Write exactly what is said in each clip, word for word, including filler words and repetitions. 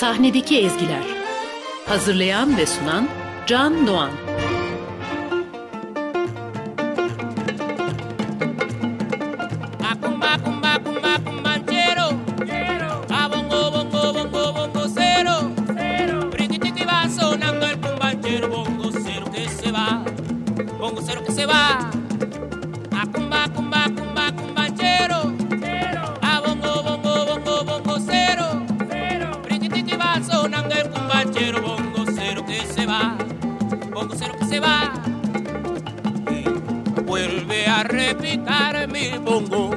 Sahnedeki ezgiler. Hazırlayan ve sunan Can Doğan. Repicar mi bongo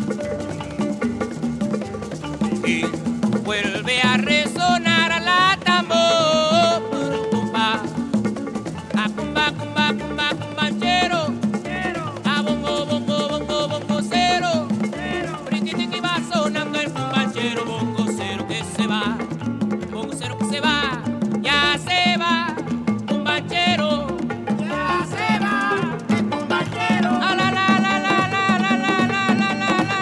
y vuelve a resonar la tambor, cumba, a cumba, cumba, cumba, cumbanchero, a bongo, bongo, bongo, bongo cero, riquitiqui va sonando el cumbanchero, bongo cero que se va, bongo cero que se va, ya se va, cumbanchero. Ya se va, el cumbanchero. A la la la la la la la la la la.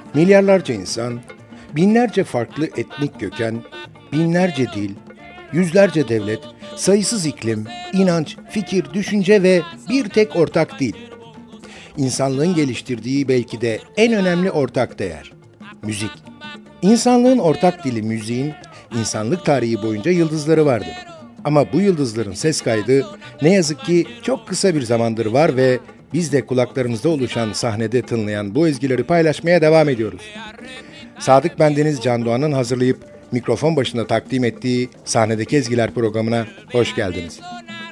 Milyarlarca insan, binlerce farklı etnik köken, binlerce dil, yüzlerce devlet, sayısız iklim, inanç, fikir, düşünce ve bir tek ortak dil. İnsanlığın geliştirdiği belki de en önemli ortak değer, müzik. İnsanlığın ortak dili müziğin, insanlık tarihi boyunca yıldızları vardır. Ama bu yıldızların ses kaydı ne yazık ki çok kısa bir zamandır var ve biz de kulaklarımızda oluşan sahnede tınlayan bu ezgileri paylaşmaya devam ediyoruz. Sadık Bendeniz Can Doğan'ın hazırlayıp mikrofon başında takdim ettiği Sahnedeki Ezgiler programına hoş geldiniz.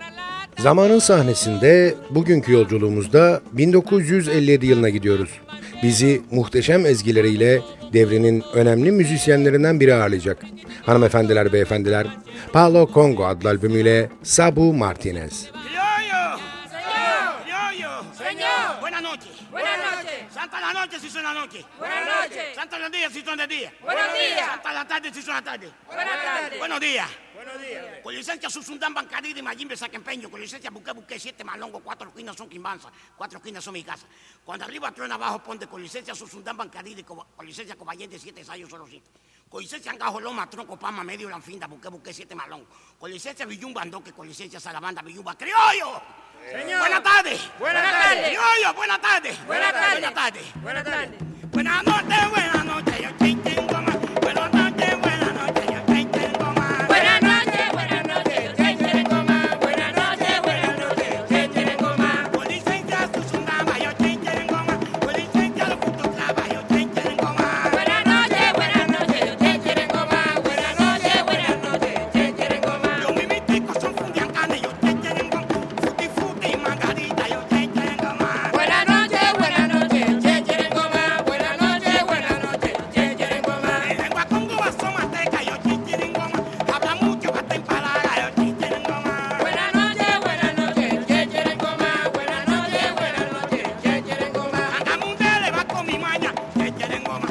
Zamanın sahnesinde bugünkü yolculuğumuzda bin dokuz yüz elli yedi yılına gidiyoruz. Bizi muhteşem ezgileriyle devrinin önemli müzisyenlerinden biri ağırlayacak. Hanımefendiler, beyefendiler, Palo Congo adlı albümüyle Sabu Martinez. ¡Criollo! ¡Señor! ¡Criollo! Señor. Buenas noches. Buenas noches. Santa la noche si son la noche. Buenas noches. Santa los días si son de día. Buenos días. Santa la tarde si son la tarde. Buenas tardes. Buenos días. Buenos días. Con licencia Susundán Bancadí y Mayimbe Saquempeño. Con licencia Buque Buque, siete malongo, cuatro esquinas son Quimbanza, cuatro esquinas son mi casa. Cuando arriba truena abajo ponte con licencia Susundán Bancadí y con licencia Cobayente, siete ensayos solo siete. Con licencia Angajo Loma, Tronco, Pama, Medio, Lanfinda, Buque Buque, siete malón. Con licencia Villumba, Andoque, con licencia Salabanda, Villumba. ¡Criollo! Señor. Buenas tardes. Buenas tardes. Criollo, buenas tardes. Buenas tardes. Buenas tardes. Buenas tardes. Buenas noches, buenas noches, yo chin chin goma. Buenas noches, buenas noches, yo chin chin goma. Buenas noches, buenas noches, yo te quiero goma. Buenas noches, buenas noches, yo te quiero goma. Con licencia Susundama, yo chin chin goma. Con licencia los putos traba, yo chin chin goma. Buenas noches, buenas noches, yo te quiero goma. Buenas noches, buenas noches, yo te quiero goma. Los mimiticos son fundiancanes, yo chin chin goma. Futi futi margarita, yo chin chin goma. Buenas noches, buenas noches, yo te quiero goma. Buenas noches, buenas noches, yo te quiero goma. En lengua congo vaso manteca, yo chin chin goma. Habla mucho, hasta en palabra, yo chin chin goma. Buenas noches, buenas noches, yo te quiero goma. Buenas noches, buenas noches, yo te quiero goma. Angamundele va con mi maña, chin chin goma.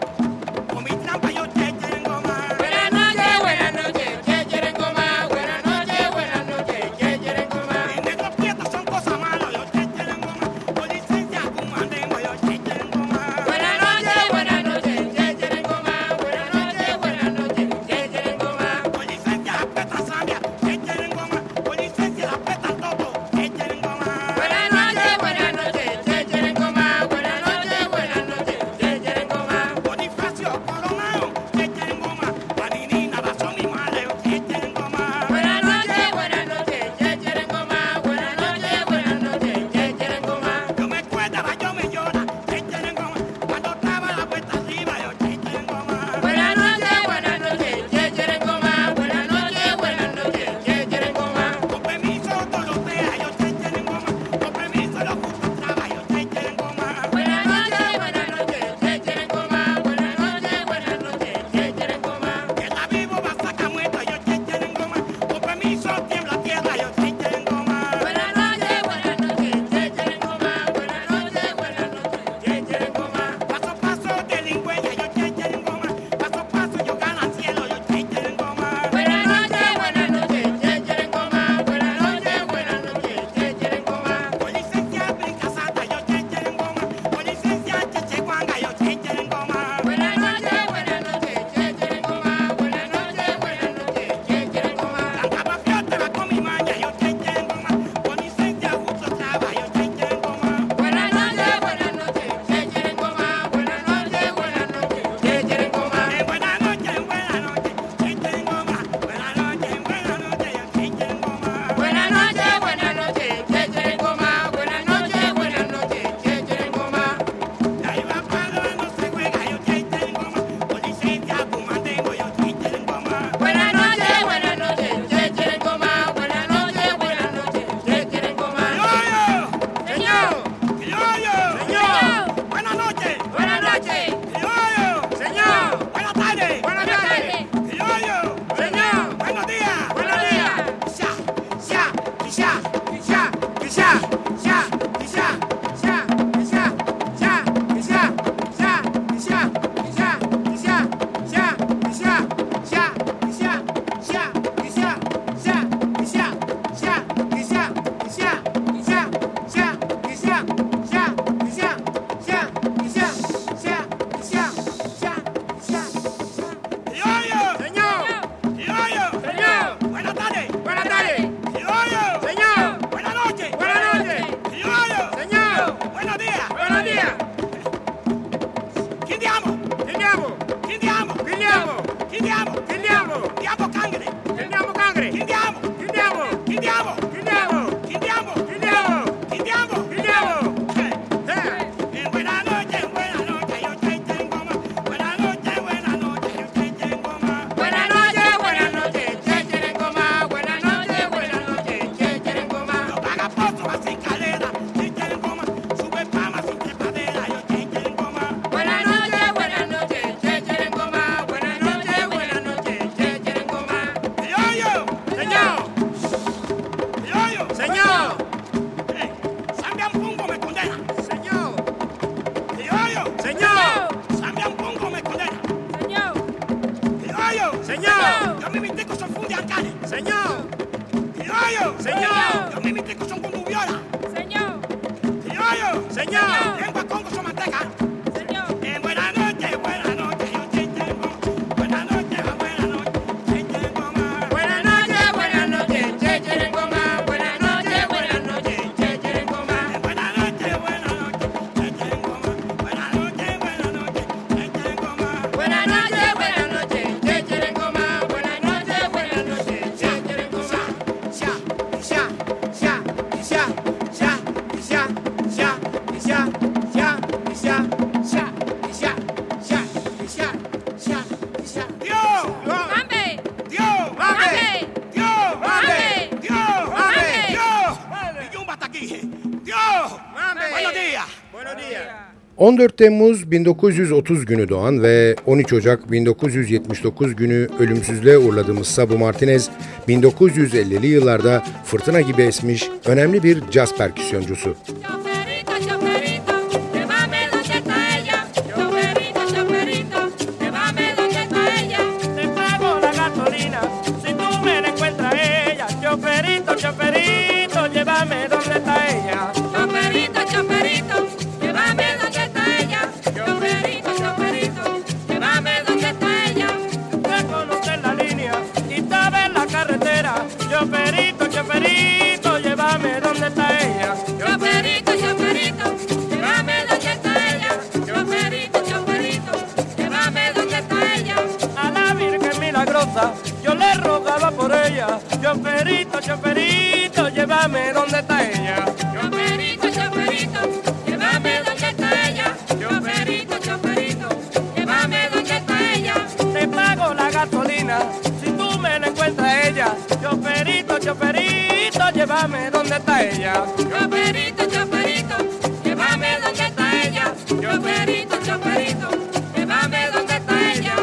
Con mi trampa, yo chin chin goma. Buenas noches, buenas noches, yo te quiero goma. Buenas noches, buenas noches, yo te quiero goma. En negros prietos son cosas malas, yo chin chin goma. Con licencia Cumandengo, yo chin chin goma. Buenas noches, buenas noches, yo te quiero goma. Buenas noches, buenas noches, yo te quiero goma. Con licencia la peta Zambia, chin chin goma. Con licencia la peta Toto, chin chin goma. Buenas noches, buenas noches, yo te quiero goma. Buenas noches, buenas noches, yo te quiero goma. Quindiamo. Quindiamo. Quindiamo. Diamo cangre. Quindiamo cangre. Quindiamo. Quindiamo. Quindiamo. Quindiamo. Quindiamo. Quindiamo. Quindiamo. Quindiamo. Eh. Eh. Eh, buenas noches, buenas noches, yo te tengo más. Buenas noches, buenas noches, yo te tengo más. Buenas noches, buenas noches, che cherencoma. Buenas noches, buenas noches, che cherencoma. Los vagabundos hacen calera, yo te tengo más. Sube fama sin trepadera, yo te tengo más. Buenas noches, buenas noches, che cherencoma. Buenas noches, buenas noches, che cherencoma. Criollo, Señor, criollo. señor, Eh, Zambian Pungo me condena. señor, Criollo, señor, Zambian Pungo me condena. señor, Criollo, señor, yo me invité con son fundi alcalde. señor, Criollo, señor, yo me invité con son condubiola. señor, Criollo, señor, lengua Congo son manteca. señor. Eh, buenas noches, buenas noches, yo te tengo. Buenas noches, buenas noches, yo te tengo más. Buenas noches, buenas noches, che cherencoma. Buenas noches, buenas noches, che cherencoma. Eh, Buenas noches, buenas noches, yo te tengo más. Buenas noches, buenas noches, yo te tengo más. Buenas noches, buenas noches, che cherencoma. Buenas noches, buenas noches, che cherencoma. Sha, sha, sha, sha, sha, sha, sha, sha, sha, sha, sha, sha, sha, sha, sha, sha. Dios, ¡Mambe! Dios, ¡Mambe! Dios, ¡Mambe! Dios, ¡Mambe! Dios. Y Yumba está aquí. Dios. ¡Mambe! Buenos días. Buenos días. on dört Temmuz bin dokuz yüz otuz günü doğan ve on üç Ocak bin dokuz yüz yetmiş dokuz günü ölümsüzlüğe uğurladığımız Sabu Martinez, bin dokuz yüz ellili yıllarda fırtına gibi esmiş önemli bir caz perküsyoncusu. Choferito, choferito, llévame donde está ella. Choferito, choferito, llévame donde está ella. Te pago la gasolina si tú me la encuentras ella. Choferito, choferito, llévame donde está ella. Choferito, choferito, llévame donde está ella. Choferito, choferito, llévame donde está ella. Te conoces la línea y sabes la carretera. Choferito, choferito, llévame donde está ella. Choferito, choferito, llévame donde está ella. Choferito, choferito, llévame donde está ella. A la Virgen milagrosa yo le rogaba por ella. Choferito, choferito, llévame donde está ella. Choferito, choferito, llévame donde está ella. Choferito, choferito, llévame donde está ella. Te pago la gasolina si tú me la encuentras ella. Choferito, choferito, llévame donde está ella. Choferito, choferito, llévame donde está ella. Choferito, choferito, llévame donde está ella.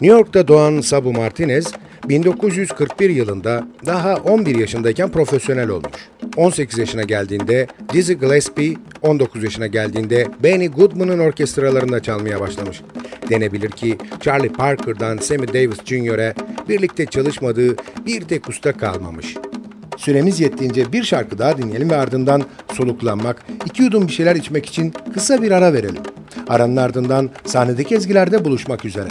New York'ta doğan Sabu Martinez, bin dokuz yüz kırk bir yılında daha on bir yaşındayken profesyonel olmuş. on sekiz yaşına geldiğinde Dizzy Gillespie, on dokuz yaşına geldiğinde Benny Goodman'ın orkestralarında çalmaya başlamış. Denebilir ki Charlie Parker'dan Sammy Davis Junior'e birlikte çalışmadığı bir tek usta kalmamış. Süremiz yettiğince bir şarkı daha dinleyelim ve ardından soluklanmak, iki yudum bir şeyler içmek için kısa bir ara verelim. Aranın ardından sahnedeki ezgilerde buluşmak üzere.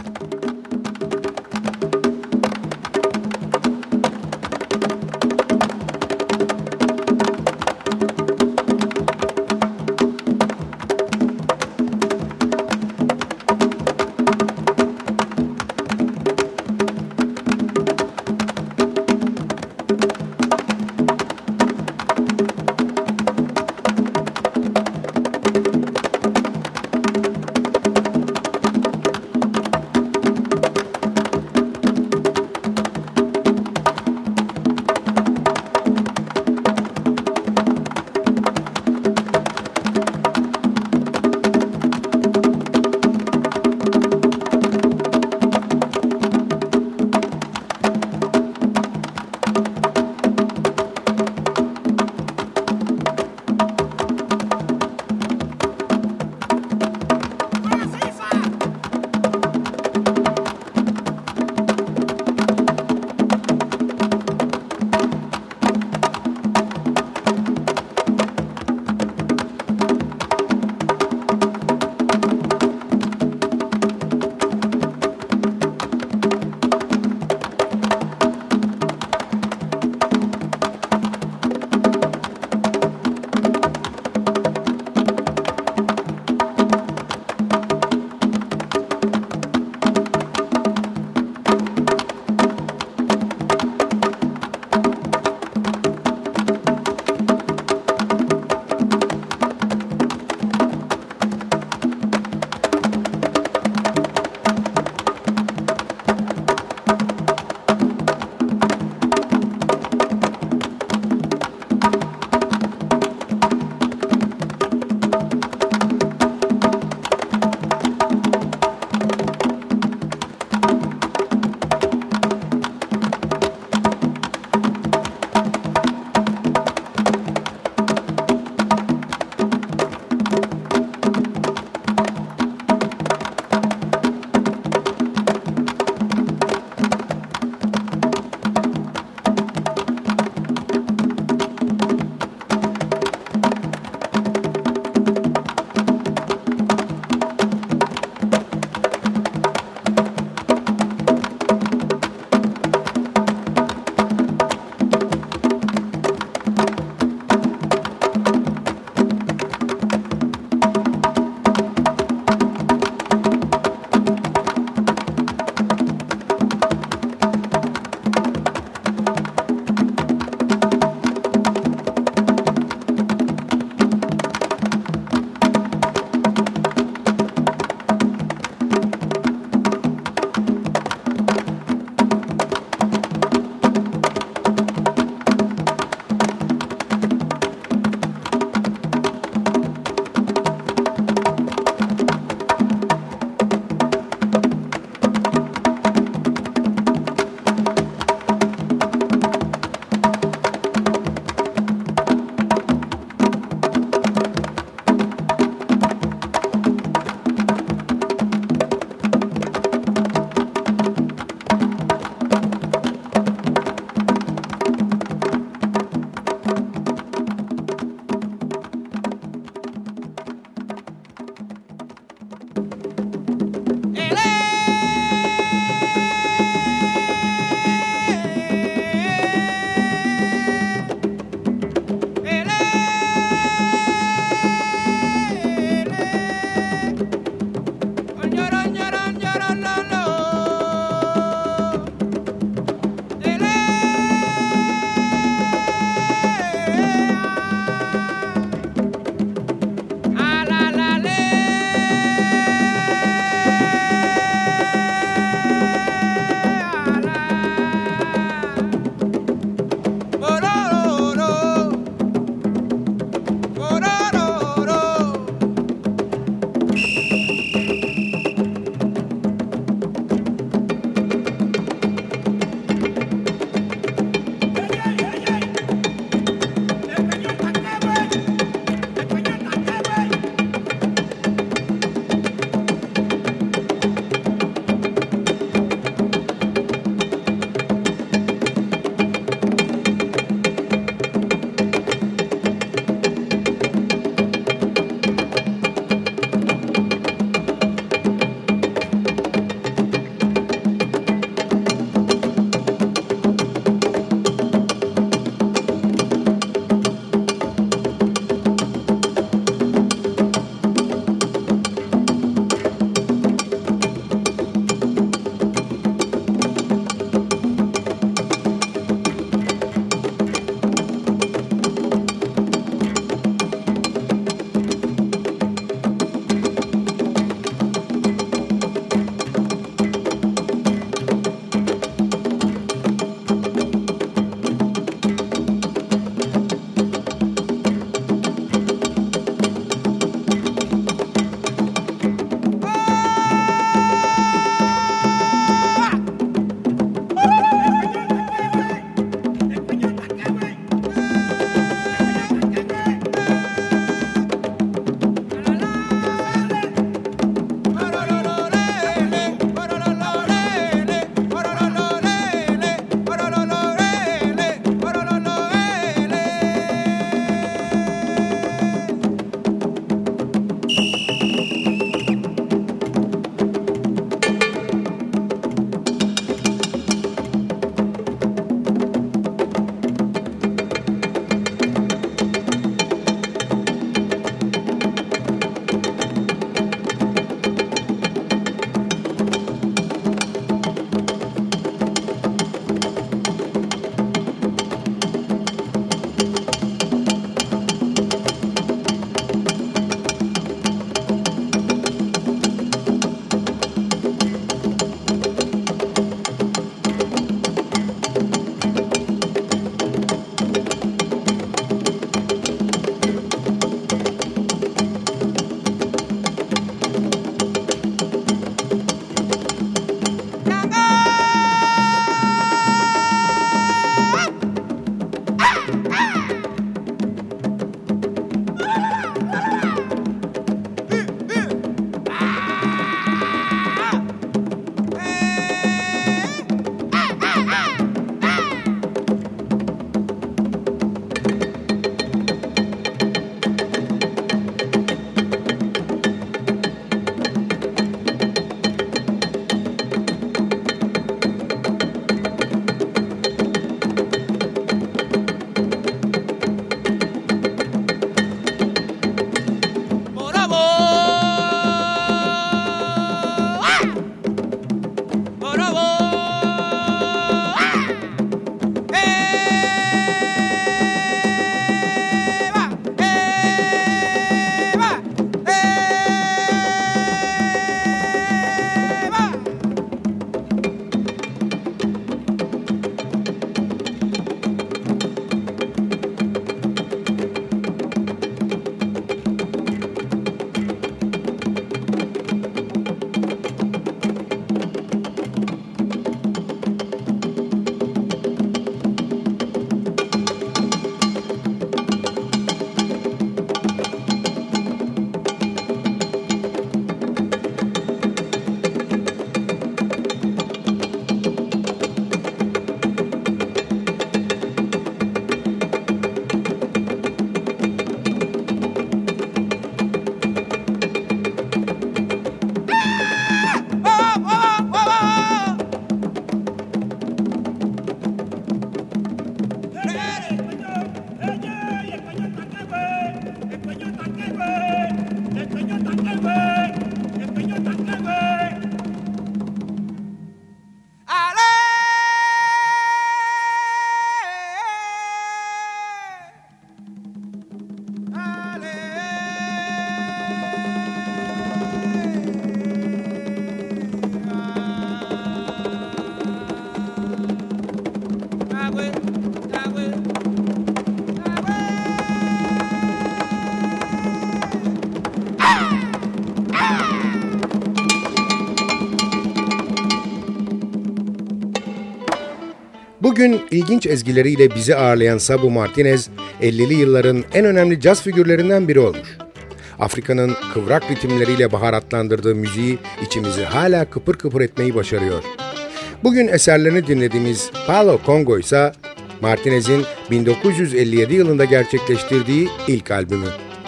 Bugün ilginç ezgileriyle bizi ağırlayan Sabu Martinez, ellili yılların en önemli caz figürlerinden biri olmuş. Afrika'nın kıvrak ritimleriyle baharatlandırdığı müziği içimizi hala kıpır kıpır etmeyi başarıyor. Bugün eserlerini dinlediğimiz Palo Congo ise Martinez'in bin dokuz yüz elli yedi yılında gerçekleştirdiği ilk albümü.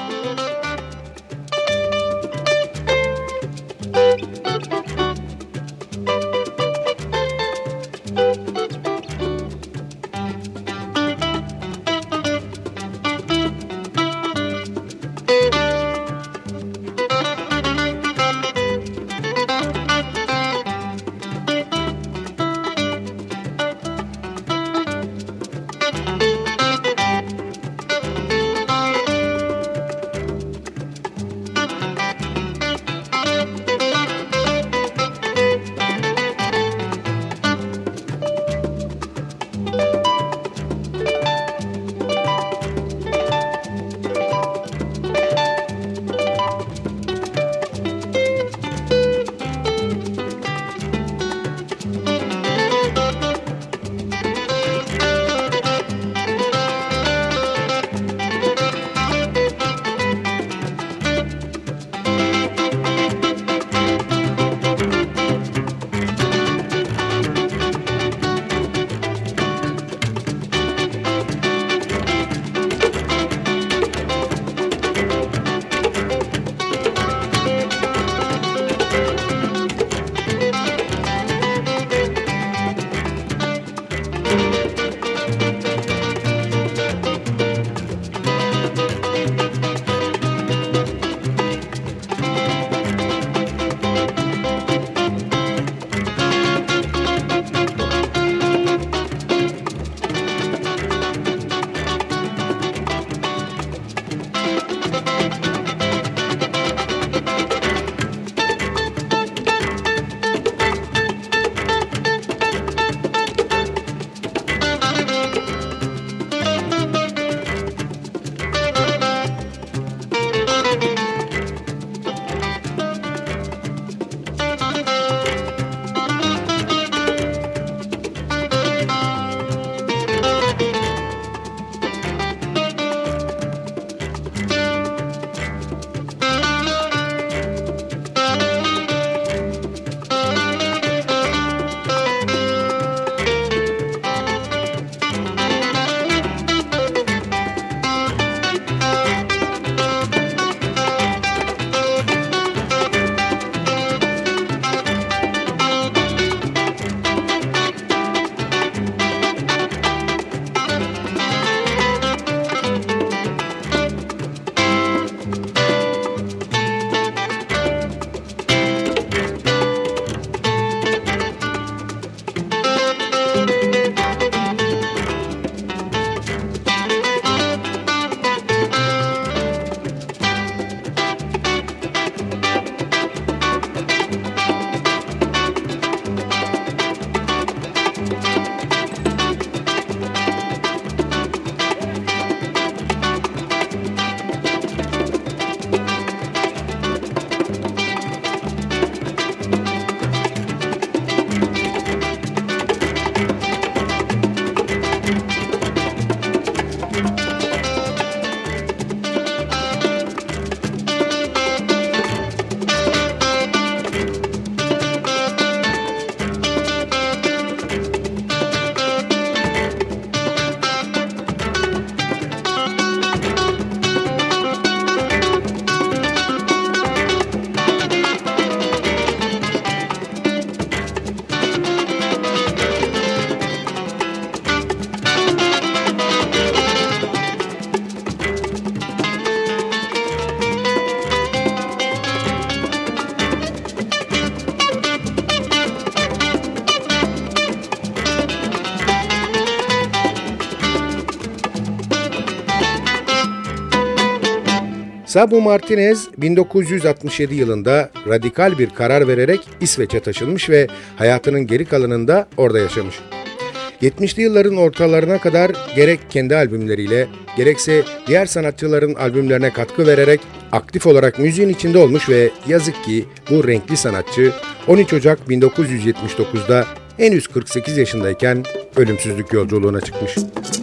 Sabu Martinez bin dokuz yüz altmış yedi yılında radikal bir karar vererek İsveç'e taşınmış ve hayatının geri kalanında orada yaşamış. yetmişli yılların ortalarına kadar gerek kendi albümleriyle gerekse diğer sanatçıların albümlerine katkı vererek aktif olarak müziğin içinde olmuş ve yazık ki bu renkli sanatçı on üç Ocak bin dokuz yüz yetmiş dokuzda henüz kırk sekiz yaşındayken ölümsüzlük yolculuğuna çıkmış.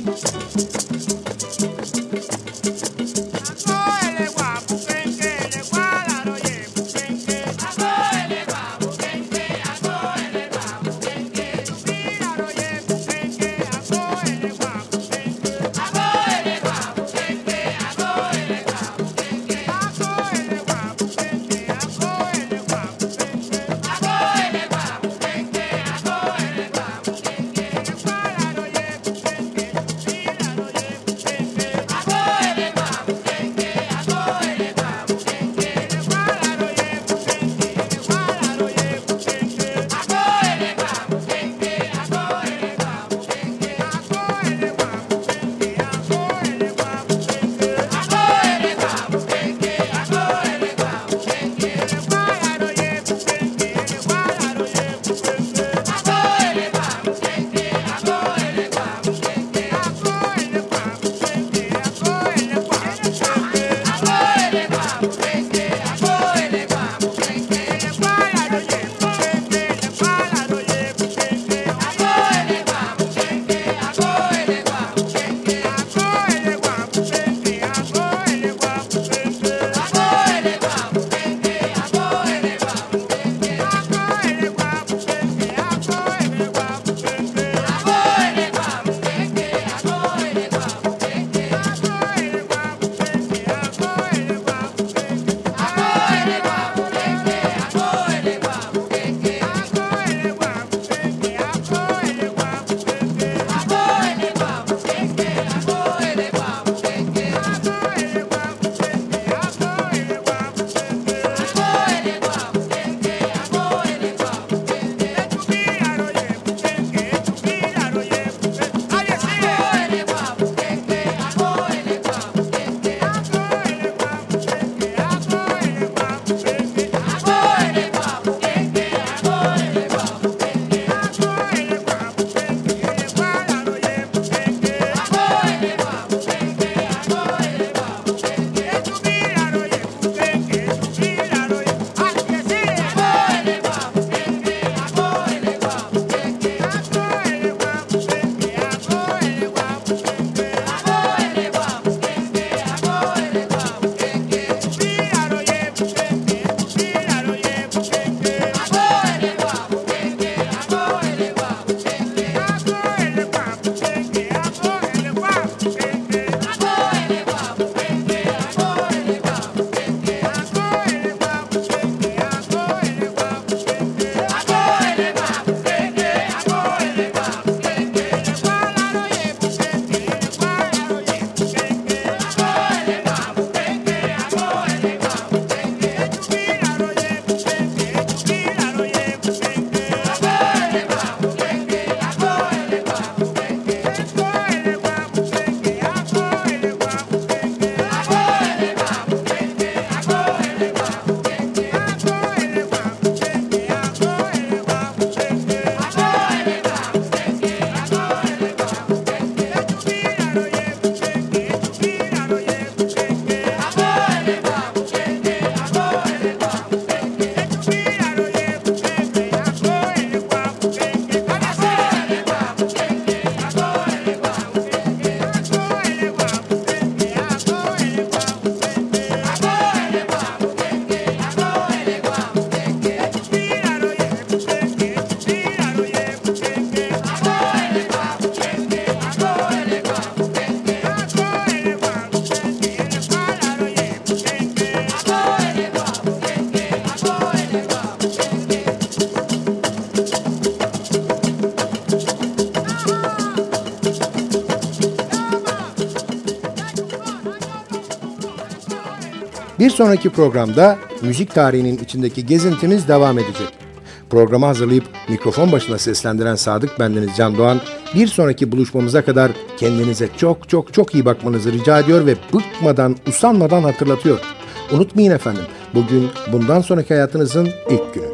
Bir sonraki programda müzik tarihinin içindeki gezintimiz devam edecek. Programı hazırlayıp mikrofon başına seslendiren Sadık bendeniz Can Doğan, bir sonraki buluşmamıza kadar kendinize çok çok çok iyi bakmanızı rica ediyor ve bıkmadan, usanmadan hatırlatıyor. Unutmayın efendim, bugün bundan sonraki hayatınızın ilk günü.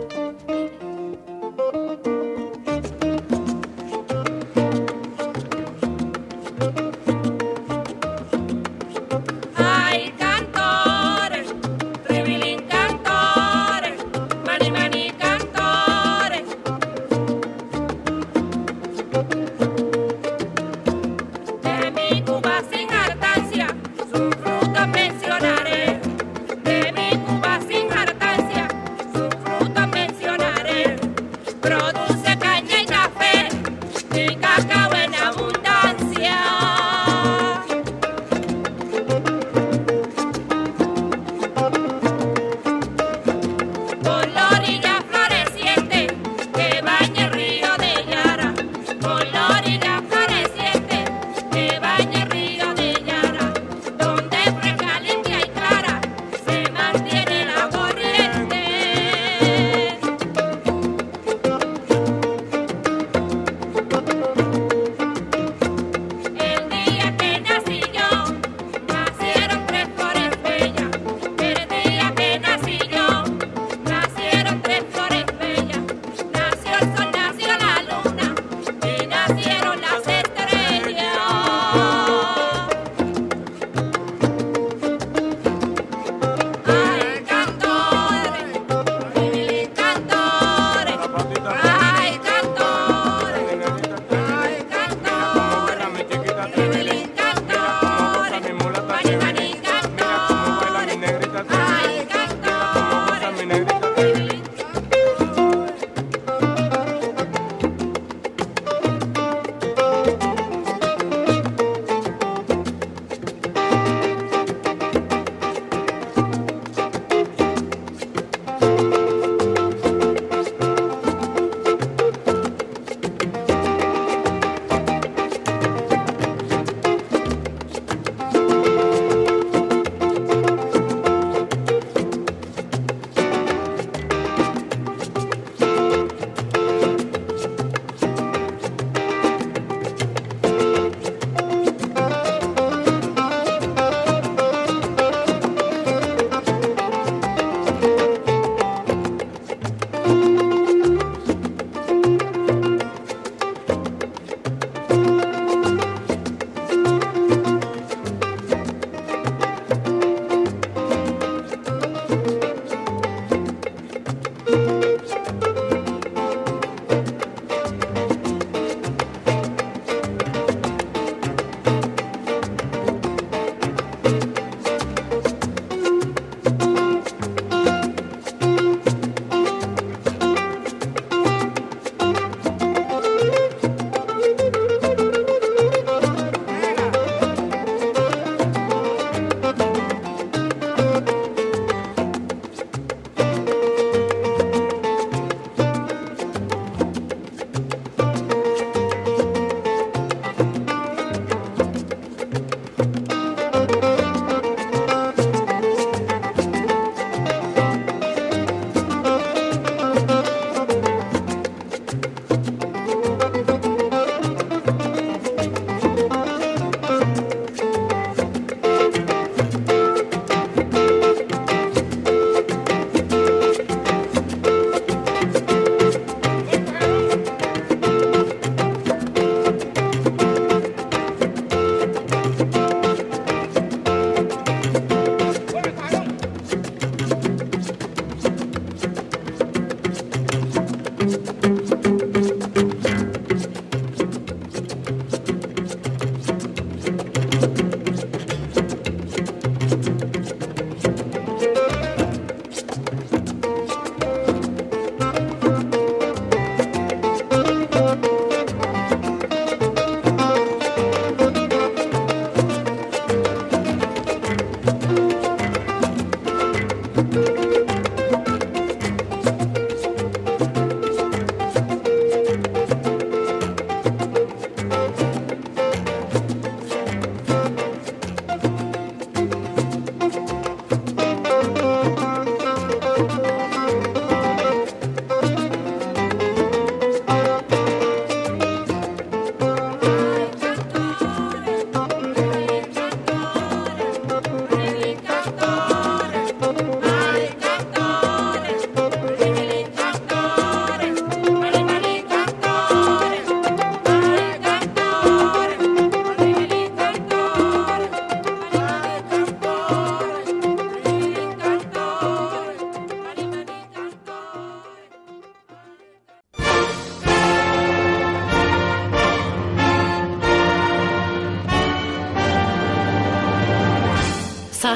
Mani, mani, cantores.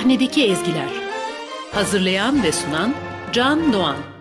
Sahnedeki ezgiler. Hazırlayan ve sunan Can Doğan.